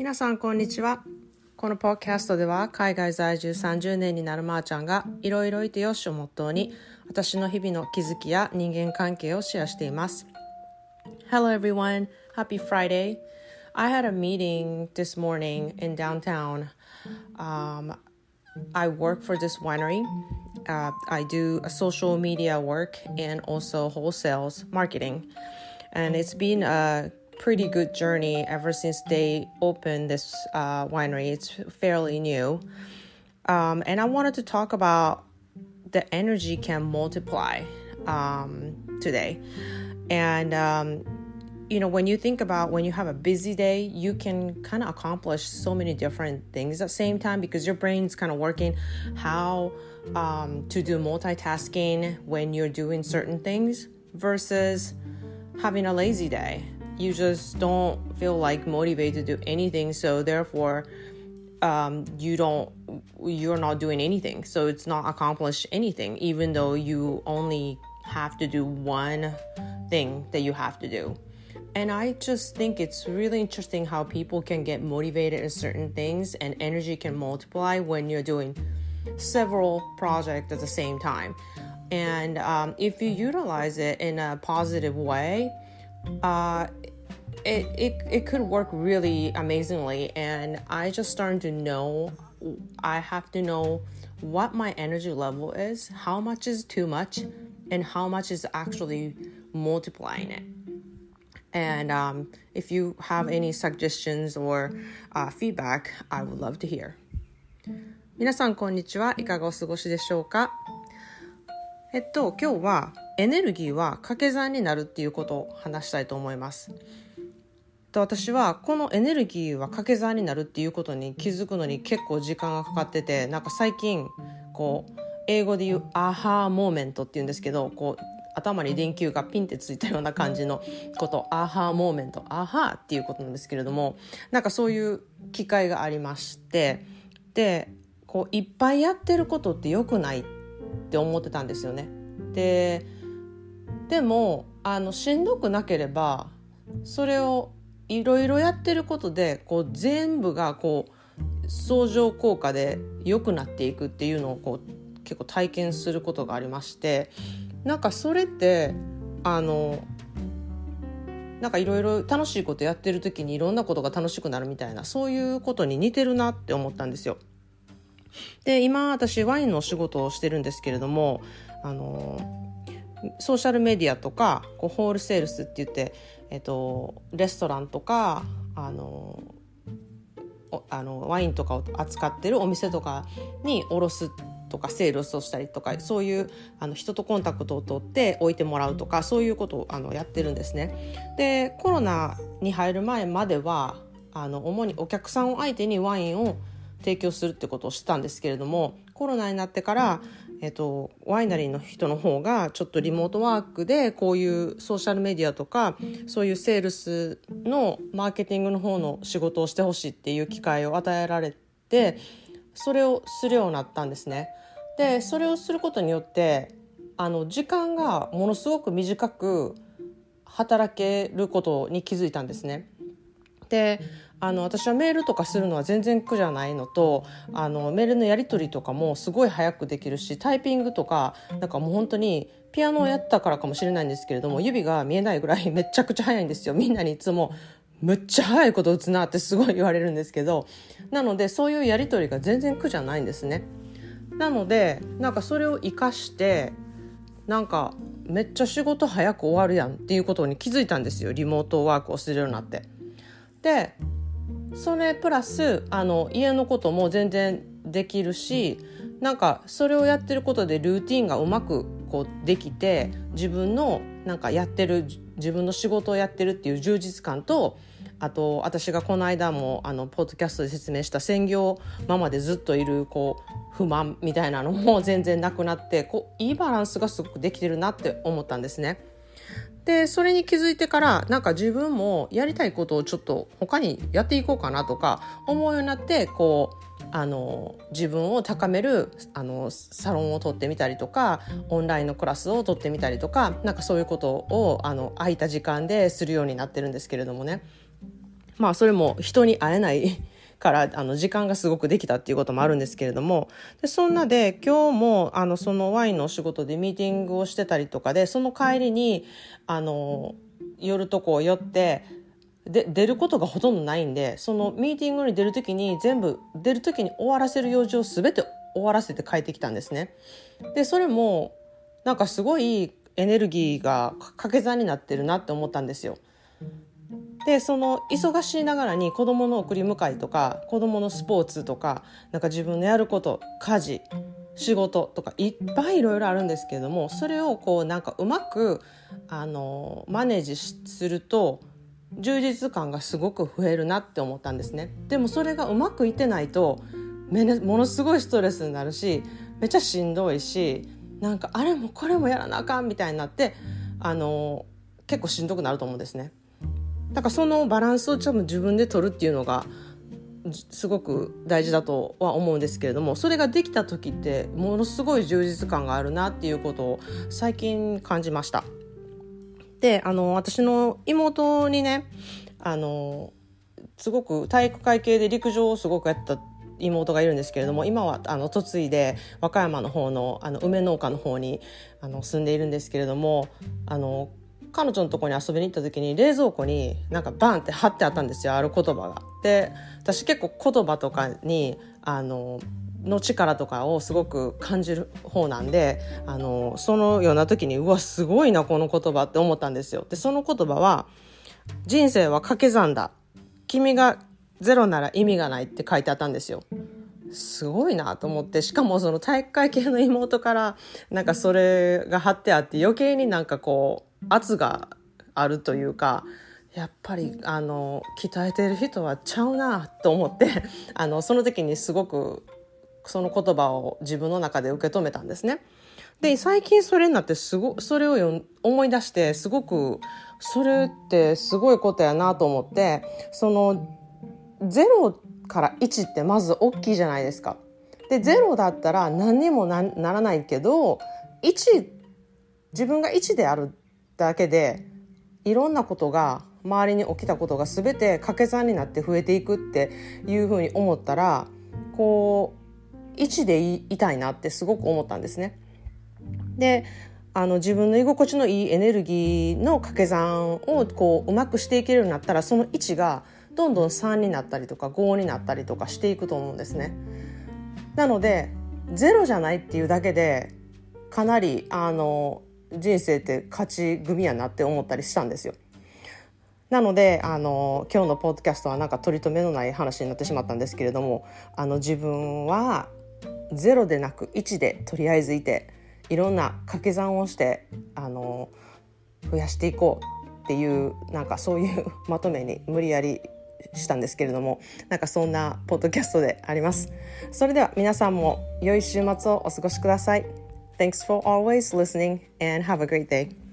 皆さんこんにちは。このポッドキャストでは海外在住30年になるまーちゃんがいろいろいてよしをモットーに私の日々の気づきや人間関係をシェアしています。Hello everyone, happy Friday. I had a meeting this morning in downtown. I work for this winery. I do a social media work and also wholesales marketing. And it's been a pretty good journey ever since they opened this winery. It's fairly new. And I wanted to talk about the energy can multiply today. And when you think about when you have a busy day, you can kind of accomplish so many different things at the same time because your brain's kind of working how to do multitasking when you're doing certain things versus having a lazy day. You just don't feel like motivated to do anything, so therefore you're not doing anything, so it's not accomplish anything even though you only have to do one thing that you have to do. And I just think it's really interesting how people can get motivated in certain things and energy can multiply when you're doing several projects at the same time. And if you utilize it in a positive way, it could work really amazingly. And I just started to know I have to know what my energy level is, how much is too much, and how much is actually multiplying it. And if you have any suggestions or feedback, I would love to hear. 皆さんこんにちは。いかがお過ごしでしょうか。今日はエネルギーは掛け算になるっていうことを話したいと思います。私はこのエネルギーは掛け算になるっていうことに気づくのに結構時間がかかってて、なんか最近英語で言うアハーモーメントっていうんですけど、頭に電球がピンってついたような感じのことアハーモーメント、アハーっていうことなんですけれども、なんかそういう機会がありまして、でいっぱいやってることって良くないって思ってたんですよね。でもしんどくなければそれをいろいろやってることで全部が相乗効果で良くなっていくっていうのを結構体験することがありまして、なんかそれってなんかいろいろ楽しいことやってる時にいろんなことが楽しくなるみたいな、そういうことに似てるなって思ったんですよ。で今私ワインのお仕事をしてるんですけれども、ソーシャルメディアとかホールセールスって言って、レストランとかワインとかを扱ってるお店とかに卸すとかセールスをしたりとか、そういう人とコンタクトを取って置いてもらうとか、そういうことをやってるんですね。でコロナに入る前までは主にお客さんを相手にワインを提供するってことをしてたんですけれども、コロナになってから、ワイナリーの人の方がちょっとリモートワークでこういうソーシャルメディアとかそういうセールスのマーケティングの方の仕事をしてほしいっていう機会を与えられて、それをするようになったんですね。でそれをすることによって時間がものすごく短く働けることに気づいたんですね。で私はメールとかするのは全然苦じゃないのと、メールのやり取りとかもすごい早くできるし、タイピングとかなんかもう本当にピアノをやったからかもしれないんですけれども、指が見えないぐらいめちゃくちゃ早いんですよ。みんなにいつもむっちゃ早いこと打つなってすごい言われるんですけど、なのでそういうやり取りが全然苦じゃないんですね。なのでなんかそれを活かしてなんかめっちゃ仕事早く終わるやんっていうことに気づいたんですよ。リモートワークをするようになって。でそれプラス家のことも全然できるし、なんかそれをやってることでルーティンがうまくできて、自分のなんか自分の仕事をやってるっていう充実感と、あと私がこの間もポッドキャストで説明した専業ママでずっといる不満みたいなのも全然なくなって、いいバランスがすごくできてるなって思ったんですね。でそれに気づいてからなんか自分もやりたいことをちょっと他にやっていこうかなとか思うようになって、自分を高めるサロンを取ってみたりとか、オンラインのクラスを取ってみたりとか、なんかそういうことを空いた時間でするようになってるんですけれどもね。 それも人に会えないから時間がすごくできたっていうこともあるんですけれども、でそんなで今日もそのワインのお仕事でミーティングをしてたりとかで、その帰りに寄るとこを寄ってで出ることがほとんどないんで、そのミーティングに出るときに全部出るときに終わらせる用事を全て終わらせて帰ってきたんですね。でそれもなんかすごいエネルギーが掛け算になってるなって思ったんですよ。でその忙しいながらに子供の送り迎えとか子供のスポーツとか、なんか自分のやること、家事、仕事とかいっぱいいろいろあるんですけれども、それをこうなんかうまくマネージすると充実感がすごく増えるなって思ったんですね。でもそれがうまくいってないとものすごいストレスになるし、めっちゃしんどいし、なんかあれもこれもやらなあかんみたいになって結構しんどくなると思うんですね。だからそのバランスを多分自分で取るっていうのがすごく大事だとは思うんですけれども、それができた時ってものすごい充実感があるなっていうことを最近感じました。で私の妹にねすごく体育会系で陸上をすごくやった妹がいるんですけれども、今は嫁いで和歌山の方の梅農家の方に住んでいるんですけれども、彼女のところに遊びに行った時に冷蔵庫になんかバンって貼ってあったんですよ、ある言葉が。で私結構言葉とかにの力とかをすごく感じる方なんで、そのような時にうわすごいなこの言葉って思ったんですよ。でその言葉は、人生は掛け算だ、君がゼロなら意味がないって書いてあったんですよ。すごいなと思って、しかもその体育会系の妹からなんかそれが貼ってあって、余計になんかこう圧があるというか、やっぱり鍛えてる人はちゃうなと思ってその時にすごくその言葉を自分の中で受け止めたんですね。で最近それになってそれを思い出して、すごくそれってすごいことやなと思って、その0から1ってまず大きいじゃないですか。で0だったら何にも ならないけど、自分が1であるだけでいろんなことが周りに起きたことが全て掛け算になって増えていくっていうふうに思ったら、こう1でいたいなってすごく思ったんですね。で自分の居心地のいいエネルギーの掛け算をこううまくしていけるようになったら、その1がどんどん3になったりとか5になったりとかしていくと思うんですね。なので0じゃないっていうだけでかなり人生って勝ち組やなって思ったりしたんですよ。なので今日のポッドキャストはなんか取り留めのない話になってしまったんですけれども、自分は0でなく1でとりあえずいて、いろんな掛け算をして増やしていこうっていう、なんかそういうまとめに無理やりしたんですけれども、なんかそんなポッドキャストであります。それでは皆さんも良い週末をお過ごしください。Thanks for always listening and have a great day.